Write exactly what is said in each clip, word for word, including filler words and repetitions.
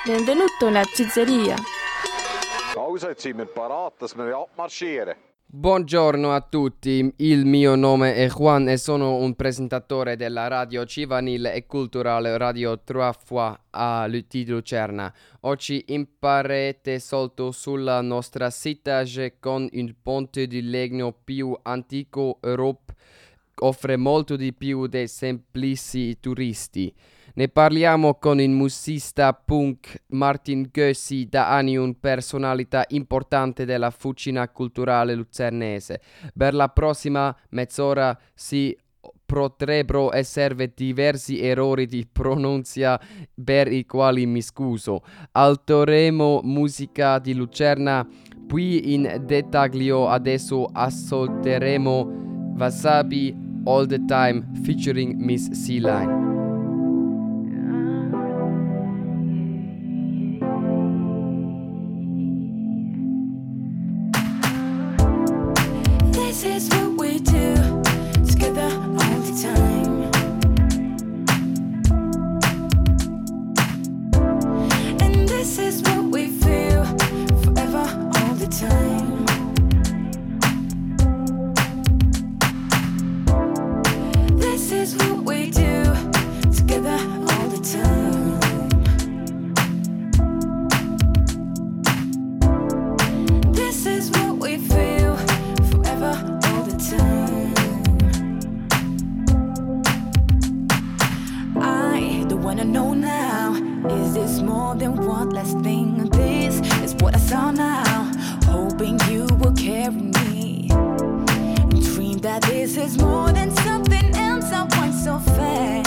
Benvenuto nella pizzeria. Also, jetzt sind wir parat, dass wir abmarschieren. Buongiorno a tutti, il mio nome è Juan e sono un presentatore della radio giovanile e culturale Radio Trois Fois a Lu- di Lucerna. Oggi imparerete soltanto sulla nostra città con il ponte di legno più antico Europa offre molto di più dei semplici turisti. Ne parliamo con il musicista punk Martin Gössi, da anni un personalità importante della fucina culturale lucernese. Per la prossima mezz'ora si potrebbero essere diversi errori di pronuncia per i quali mi scuso. Alteremo musica di Lucerna, poi in dettaglio adesso ascolteremo Wasabi All the Time featuring Miss Sea-Line. This is what we do together all the time. And this is what we feel forever all the time. This is what we do together all the time. This is what we feel forever all the time. I don't wanna know now, is this more than one last thing? This is what I saw now, hoping you will carry me. Dream that this is more than something else I want so fast.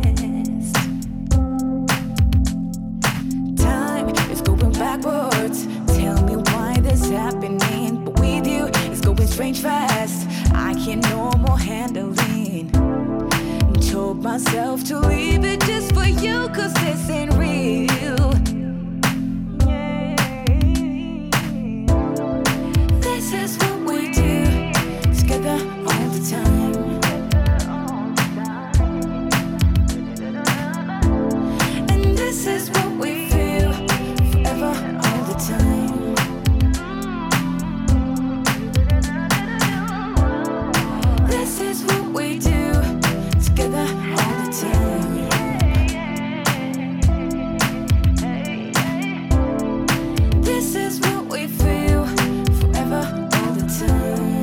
Time is going backwards, tell me why this happening. But with you, it's going strange fast, I can no more handling. Told myself to leave it just for you, cause this ain't real. This is what we do together all the time. And this is what we feel forever all the time. This is what we do together all the time. This is what we feel forever all the time.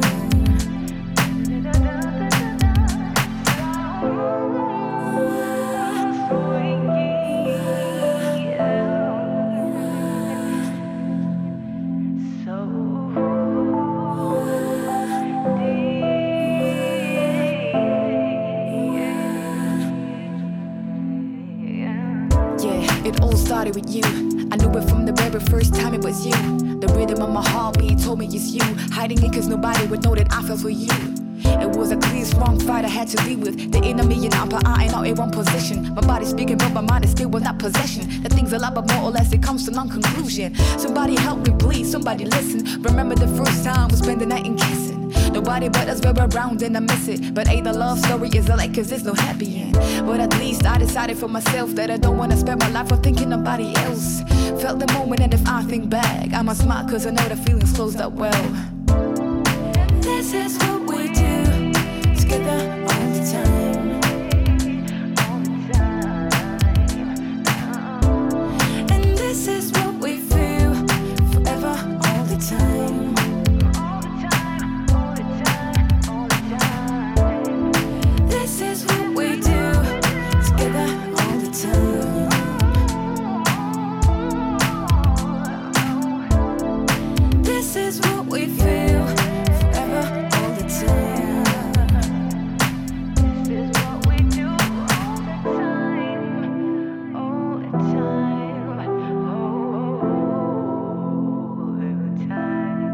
Yeah, it all started with you. I knew it from the very first time it was you. The rhythm of my heartbeat told me it's you. Hiding it cause nobody would know that I fell for you. It was a clear, strong fight I had to deal with. The enemy and upper eye ain't all in one position. My body speaking but my mind is still without possession. The thing's a lot but more or less it comes to non-conclusion. Somebody help me please, somebody listen. Remember the first time we spent the night in kissing. Nobody but us were around and I miss it. But hey, the love story is a like cause there's no happy end. But at least I decided for myself that I don't wanna spend my life on thinking nobody else. Felt the moment and if I think back I must smile cause I know the feelings closed up well. This is what we do together all the time. And this is what we feel forever all the time. This is what we do together all the time. This is what we feel forever all the time. This is what we do all the time, all the time, all the time.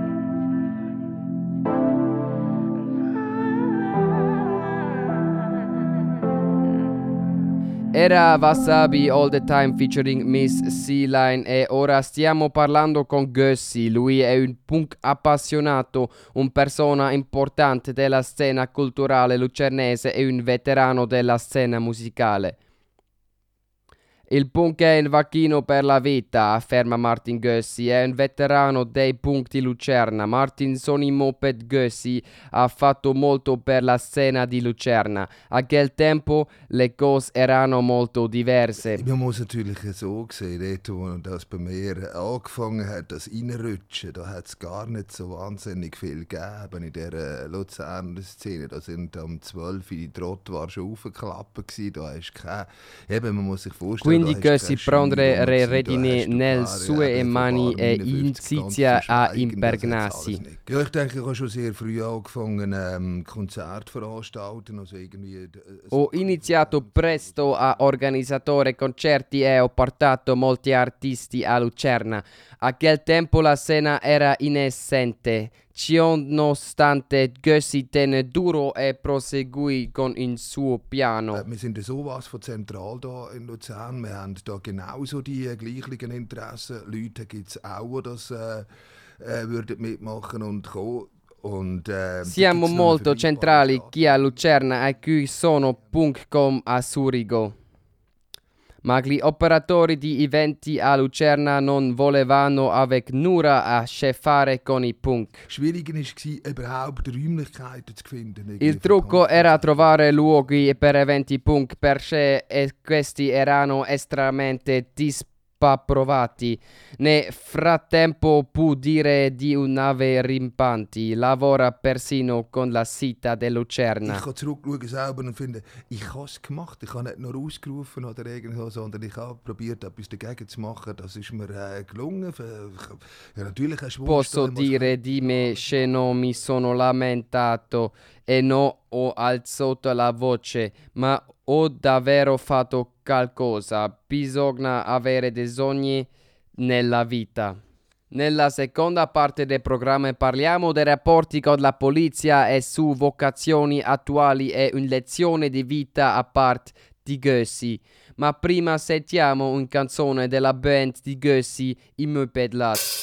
Era Wasabi All the Time featuring Miss Sea-Line e ora stiamo parlando con Gössi. Lui è un punk appassionato, un persona importante della scena culturale lucernese e un veterano della scena musicale. Il punk è un vaccino per la vita, afferma Martin Gössi, è un veterano dei punk di Lucerna. Martin Sonny Moped Gössi ha fatto molto per la scena di Lucerna. A quel tempo le cose erano molto diverse. Man muss natürlich so sehen, dort wo das bei mir angefangen hat, das Reinrutschen, da hat es gar nicht so wahnsinnig viel gegeben in dieser Luzerner Szene. Da sind am zwölf die Trottoir schon aufgeklappt gewesen, da ist kein... Eben, man muss sich vorstellen... Quindi Gössi prendere le redini nelle sue mani e inizia a impergnarsi. Ja, ich denke, ich habe schon sehr früh angefangen, ähm, Konzerte veranstalten, also irgendwie... Ho iniziato presto a organizzare concerti e ho portato molti artisti a Lucerna. A quel tempo la scena era inesistente. Ciononostante Gössi tenne duro e proseguì con il suo piano. Äh, wir sind sowas von zentral da in Luzern. Wir haben da genauso die äh, gleichen Interessen. Leute gibt es auch, die das äh, äh, würden mitmachen und kommen. Und, äh, Siamo molto centrali qui a Lucerna e qui sono punk come a Zurigo. Ma gli operatori di eventi a Lucerna non volevano avec nulla a che fare con i punk. Schwierig war, überhaupt Räumlichkeiten zu finden. Il trucco era trovare luoghi per eventi punk perché e questi erano estremamente disapprovati. Nel frattempo può dire di un'ave rimpanti, lavora persino con la Città di Lucerna. Ich kann zurückschauen selber und finden, ich habe es gemacht. Ich habe nicht nur ausgerufen oder irgendwas, sondern ich habe probiert, etwas dagegen zu machen. Das ist mir äh, gelungen. Ja, natürlich hast du Posso dire di me che non mi sono lamentato e non ho alzato la voce, ma ho davvero fatto qualcosa. Bisogna avere dei sogni nella vita. Nella seconda parte del programma parliamo dei rapporti con la polizia e su vocazioni attuali e una lezione di vita a parte di Gössi. Ma prima sentiamo una canzone della band di Gössi, I Mopedlat.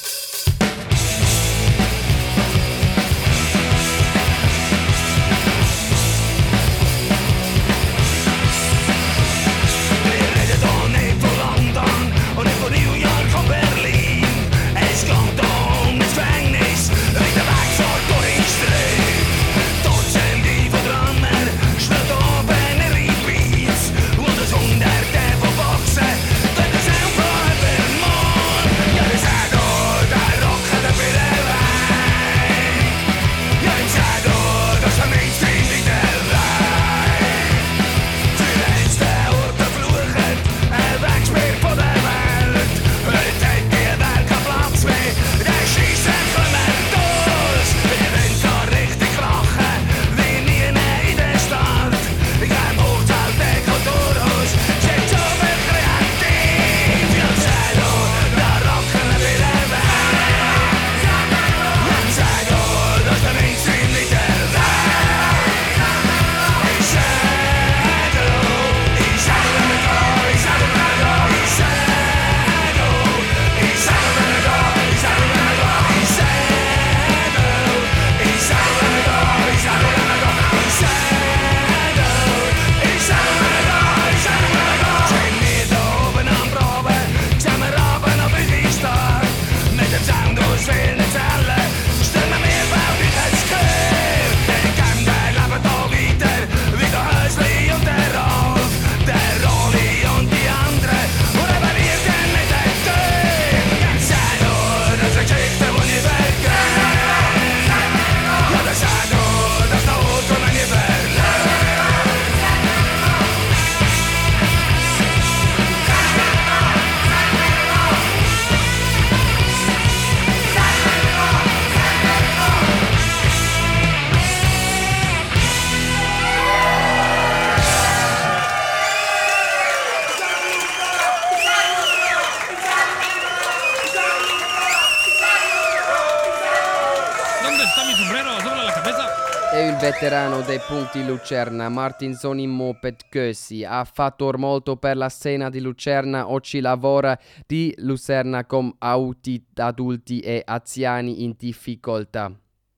Veterano dei punti Lucerna, Martin Sonny Moped Gössi ha fatto molto per la scena di Lucerna. Oggi lavora di Lucerna con adulti e anziani in difficoltà.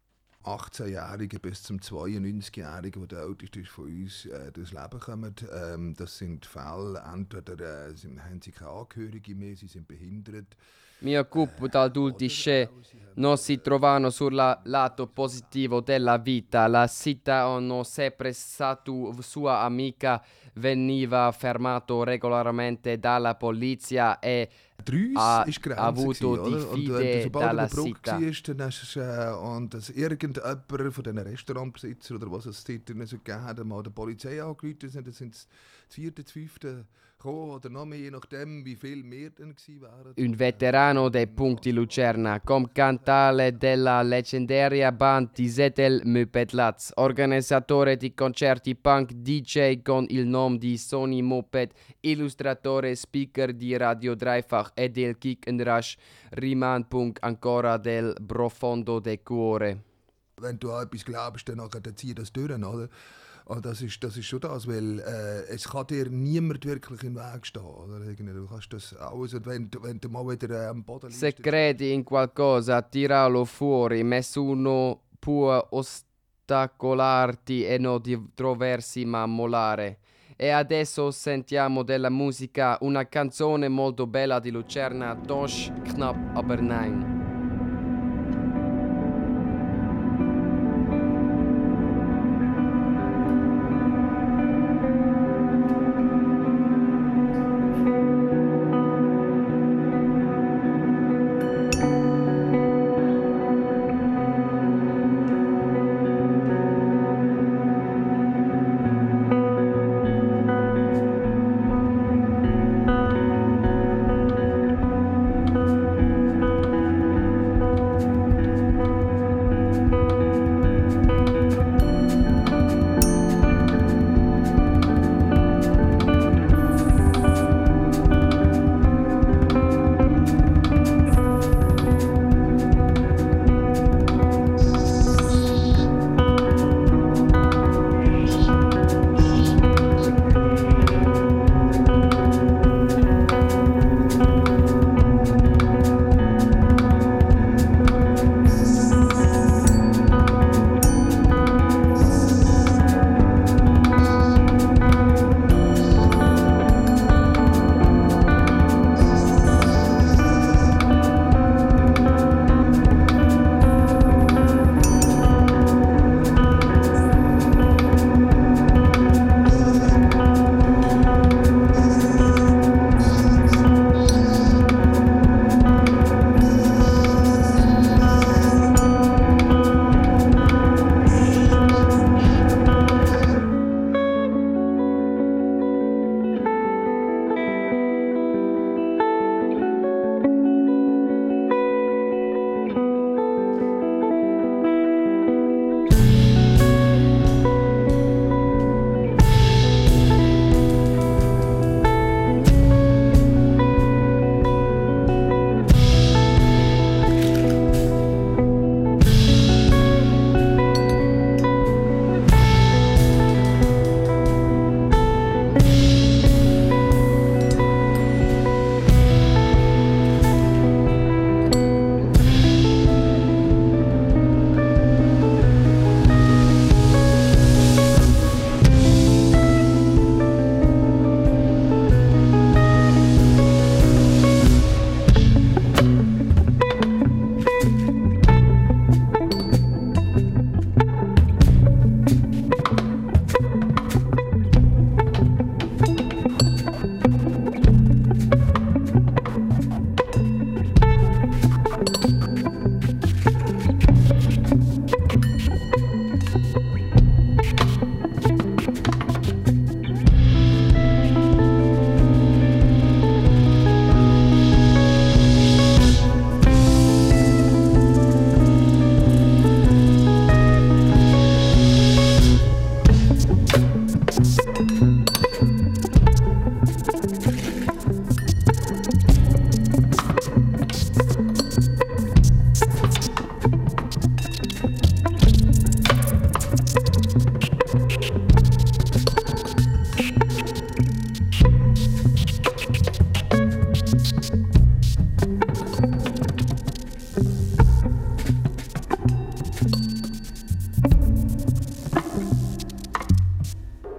achtzehnjährigen bis zum zweiundneunzigjährigen, der der älteste ist von uns, äh, durchs Leben kommen. Ähm, das sind Fälle, entweder äh, sind, haben sie keine Angehörige mehr, sie sind behindert. Mi occupo di adulti che non si trovano sul lato positivo della vita. La città hanno sempre stato sua amica, veniva fermato regolarmente dalla polizia e ha avuto diffide dalla città. Dann hast du, äh, und dass irgendjemand von diesen Restaurantbesitzern oder was es dort nicht so gegeben hat, mal der Polizei angerufen sind, dann sind es das vierte, das fünfte gekommen oder noch mehr, je nachdem wie viel mehr dann gewesen wären. Un veterano dei punti Lucerna, com cantale della leggendaria band di Zetel Mopedlatz, organizzatore di concerti punk, D J con il nome di Sony Moped, illustratore, speaker di Radio Dreifach e del Kick and Rush, rimane punk ancora del profondo del cuore. Wenn du an etwas glaubst, dann zieh das durch, oder? Und das ist, das ist schon das, weil äh, es kann dir niemand wirklich im Weg stehen. Oder? Du kannst das alles, und wenn, wenn du mal wieder äh, am Boden liegst... Se credi in qualcosa, tiralo fuori, nessuno può ostacolarti e non troversi ma mollare. E adesso sentiamo della musica, una canzone molto bella di Lucerna, Doch knapp aber nein.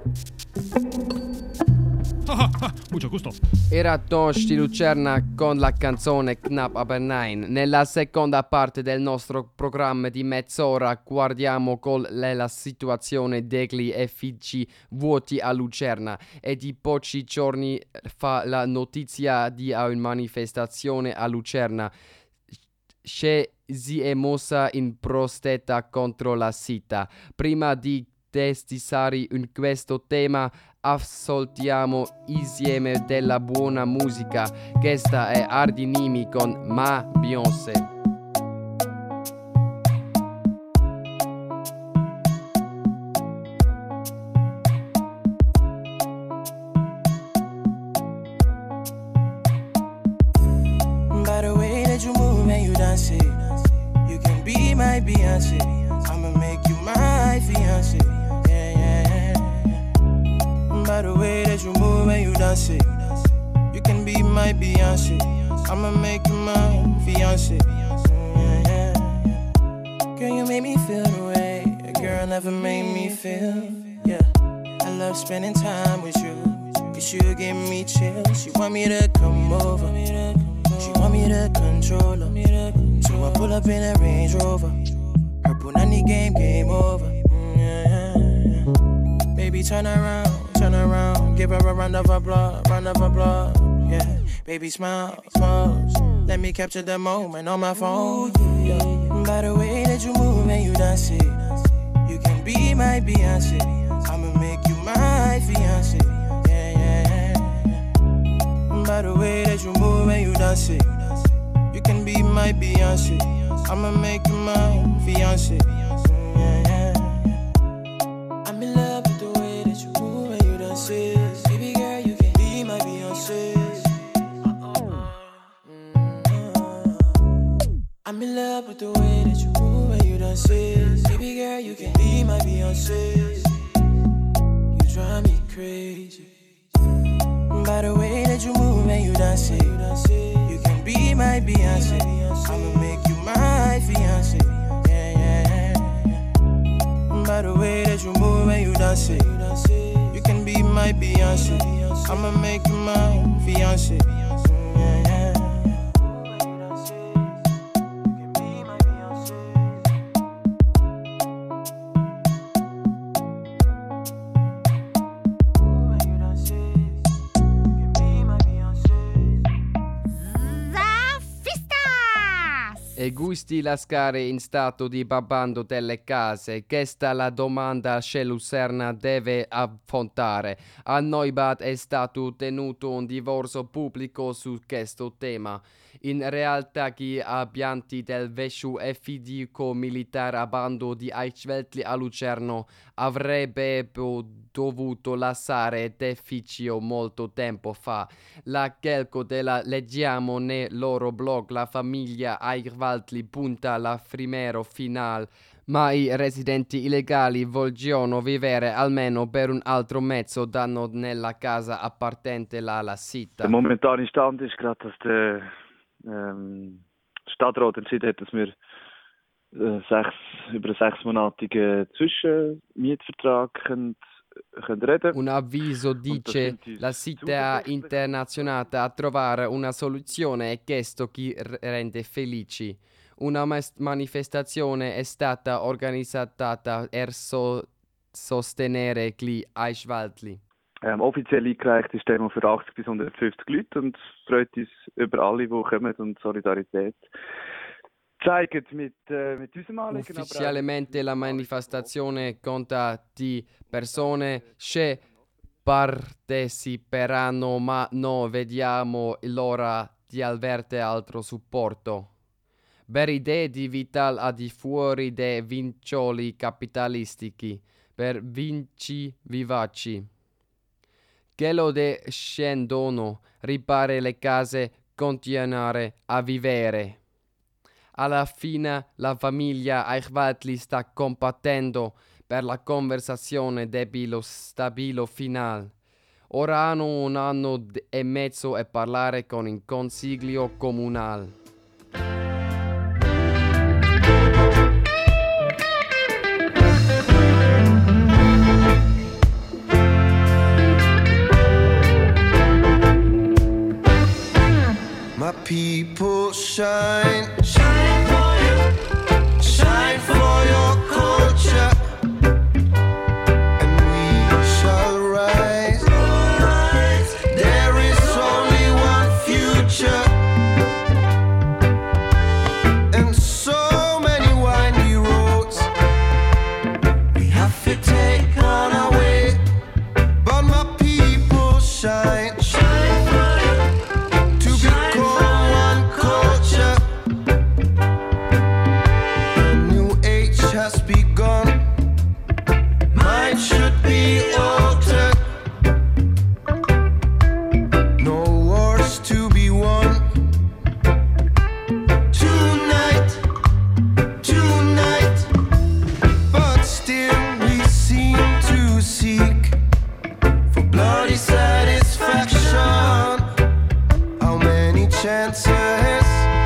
Mucho gusto. Era Tosh di Lucerna con la canzone Knapp aber Nein. Nella seconda parte del nostro programma di mezz'ora guardiamo con la situazione degli effici vuoti a Lucerna e di pochi giorni fa la notizia di una manifestazione a Lucerna che si è mossa in protesta contro la città. Prima di testisare in questo tema ascoltiamo insieme della buona musica. Questa è Ardinimi con Ma Beyoncé. By the way that you move and you dance it, you can be my Beyonce. I'ma make you my fiancé. Yeah, yeah, yeah. By the way that you move and you dance it, you can be my Beyonce. I'ma make you my fiancé. Yeah, yeah, yeah. Girl, you made me feel the way a girl never made me feel. Yeah, I love spending time with you, cause you give me chills. You want me to come over, she want me to control her. So I pull up in a Range Rover. Her Punani game, game over. Mm, yeah, yeah. Baby, turn around, turn around. Give her a round of applause, round of applause. Yeah, baby, smile, pose. Let me capture the moment on my phone. Yeah. By the way that you move and you dance it, you can be my Beyonce. I'ma make you my fiancé. Yeah, yeah, yeah. By the way that you move and you dance it, you can be my Beyonce. I'ma make you my fiancé. Yeah, yeah. I'm in love with the way that you move and you dance it. Baby girl, you can be my Beyonce. I'm in love with the way that you move and you dance it. Baby girl, you can be my Beyonce. You drive me crazy. By the way that you move and you dance it, you can be my Beyonce. I'ma make you my fiancé. Yeah, yeah, yeah. By the way that you move and you dance it, you can be my Beyonce. I'ma make you my fiancé. Yeah, yeah. E gusti lasciare in stato di babando delle case? Questa è la domanda che Lucerna deve affrontare. A Neubath è stato tenuto un divorzio pubblico su questo tema. In realtà gli abitanti del vecchio efficio militare a bando di Eichswetli a Lucerno avrebbero dovuto lasciare l'efficio molto tempo fa. La calco della leggiamo nel loro blog. La famiglia Eichswetli punta alla primero finale, ma i residenti illegali vogliono vivere almeno per un altro mezzo d'anno nella casa appartenente alla città. Der momentane Stand ist gerade, dass der ähm, Stadtrat entschieden hat, dass wir äh, sechs, über einen sechsmonatigen Zwischenmietvertrag können, können reden. Un avviso dice la città internazionale a trovare una soluzione e questo chi rende felici. Una mas- manifestazione è stata organizzata per so- sostenere gli Eichswetli. Ähm, offiziell eingereicht ist Demo für achtzig bis hundertfünfzig Leute und freut uns über alle, die kommen und Solidarität zeigen mit, äh, mit unserem Anliegen. Ufficialmente la manifestazione conta di persone che parteciperanno, ma non vediamo l'ora di avere altro supporto. Per idee di vita al di fuori dei vincoli capitalistici, per vinci vivaci. Che lo scendono, ripare le case, continuare a vivere. Alla fine la famiglia Eichswetli sta combattendo per la conversazione dello stabilo finale. Ora hanno un anno e mezzo a parlare con il consiglio comunale. people shine, shine for you, shine for your culture, and we shall rise, rise. There is only one future, and so many windy roads we have to take on our way, but my people shine, shine for you, to become one culture. A new age has begun, mine should be altered. No wars to be won. Tonight, tonight, but still we seem to seek for bloody satisfaction. How many chances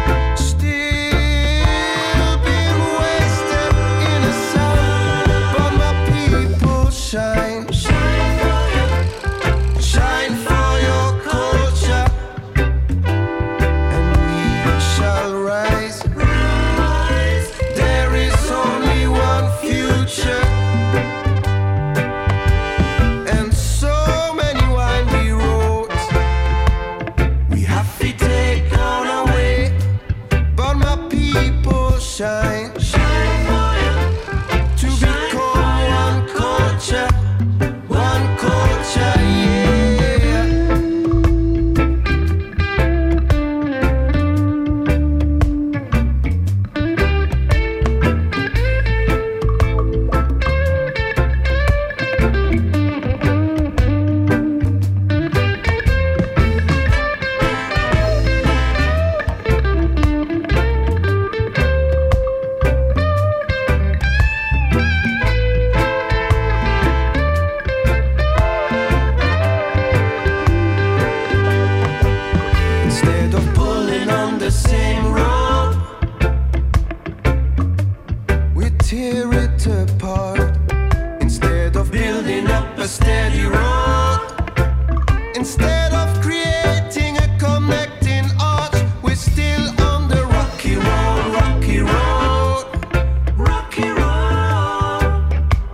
still been wasted in the sun? But my people shine, shine for you, shine for your culture, and we shall rise, rise. There is only one future, and so many windy roads we have to take on our way, but my people shine, shine for you, to become one culture, one culture, yeah. Instead of pulling on the same rope, we tear it apart. Instead of building up a steady road, instead of creating a connecting arch, we're still on the rocky road, rocky road, rocky road.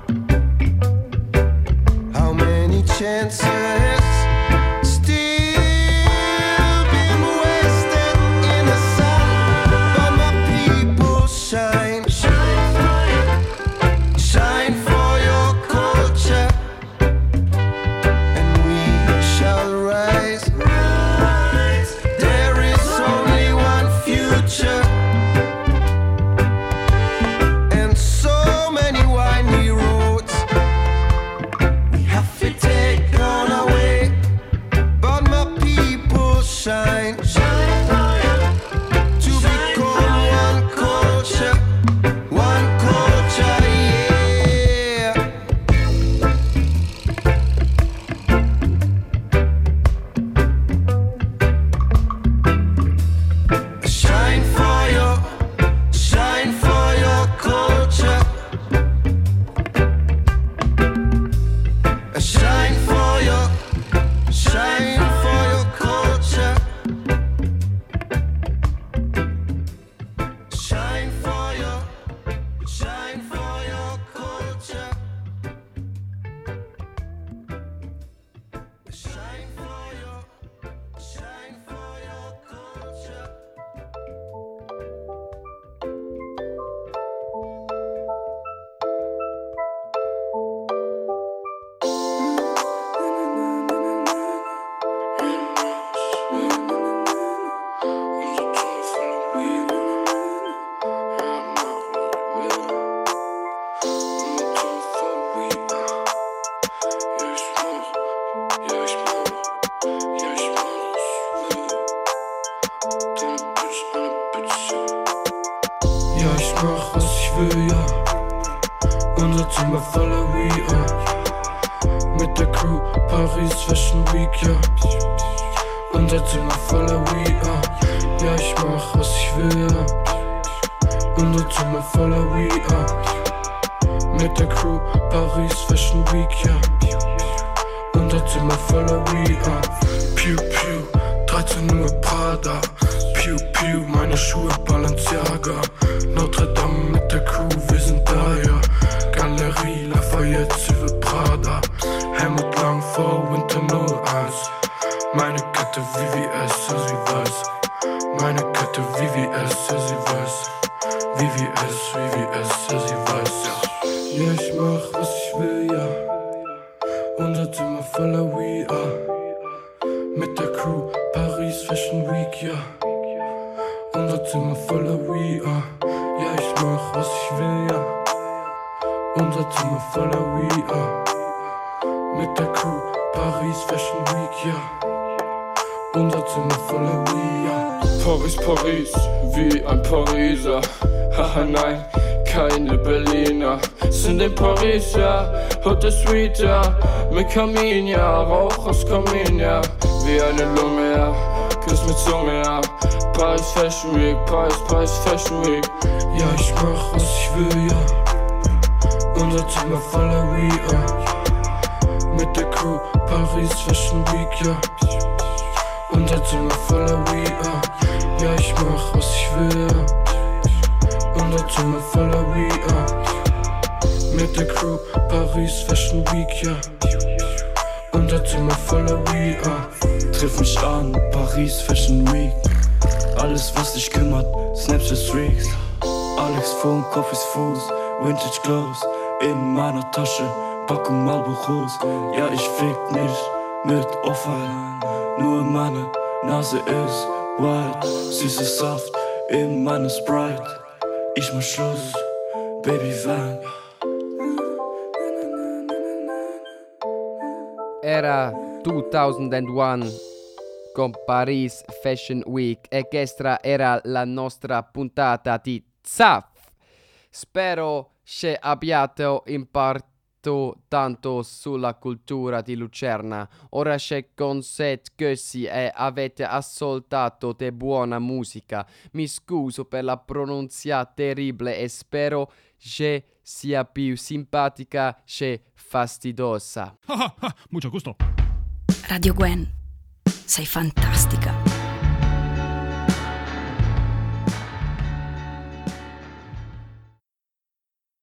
How many chances still been wasted in the sun? But my people shine, shine for you, shine for your culture, and we shall rise, rise. There is only one future, and so many windy roads we have to take on our way, but my people shine, shine for you, to become one culture, one culture, yeah. Shine for you, shine for your culture, shine for you, shine for your culture, shine for you, shine for your culture, shine for you, shine for your culture. Ja, ich mach was ich will, ja. Unser Zimmer voller We Are. Mit der Crew Paris Fashion Week, ja. Unser Zimmer voller We Are. Ja, ich mach was ich will, ja. Unser Zimmer voller We Are. Mit der Crew Paris Fashion Week, ja. Unser Zimmer voller We Are. Pew, pew. dreizehn Uhr Prada, Piu Piu, meine Schuhe Balenciaga. Notre Dame mit der Crew, wir sind da, ja. Galerie Lafayette, Süve Prada. Helmut Lang vor Winter null eins. Meine Kette V V S, ja sie weiß. Meine Kette V V S, ja sie weiß. V V S, V V S, ja sie weiß, ja. Ja, ich mach was ich will, ja. Unser Zimmer voller We Are. Mit der Crew, Paris Fashion Week, ja. Unser Zimmer voller We Are. Ja, ich mach was ich will, ja. Unser Zimmer voller We Are. Mit der Crew, Paris Fashion Week, ja. Unser Zimmer voller We Are. Paris, Paris, wie ein Pariser. Haha, nein, keine Berliner. Sind in Paris, ja, Hotel Suite, ja. Mit Kamin, ja, Rauch aus Kamin, ja. Wie eine Lunge, ja, Küss mit Zunge, ja. Paris Fashion Week, Paris, Paris Fashion Week. Ja, ich mach was ich will, ja. Unser Zimmer voller We Are. Mit der Crew, Paris Fashion Week, ja. Unser Zimmer voller We Are. Ja, ich mach was ich will, ja. Unser Zimmer voller We Are. Mit der Crew, Paris Fashion Week, ja. Unser Zimmer voller We Are. Triff mich an, Paris Fashion Week. Alles was dich kümmert, Snapchat Streaks. Alex Phone, Coffees Fuß, Vintage Clothes. In meiner Tasche, Packung Marlboros. Ja, ich fick nicht mit Off-White. Nur meine Nase ist white. Süßer Saft in meiner Sprite. Ich mach Schluss, Baby Van. Era duemilauno con Paris Fashion Week e questa era la nostra puntata di Zaf. Spero che abbiate imparato tanto sulla cultura di Lucerna. Ora c'è con set così e avete ascoltato de buona musica. Mi scuso per la pronuncia terribile e spero che sia più simpatica che fastidiosa. Mucho gusto. Radio Gwen, sei fantastica.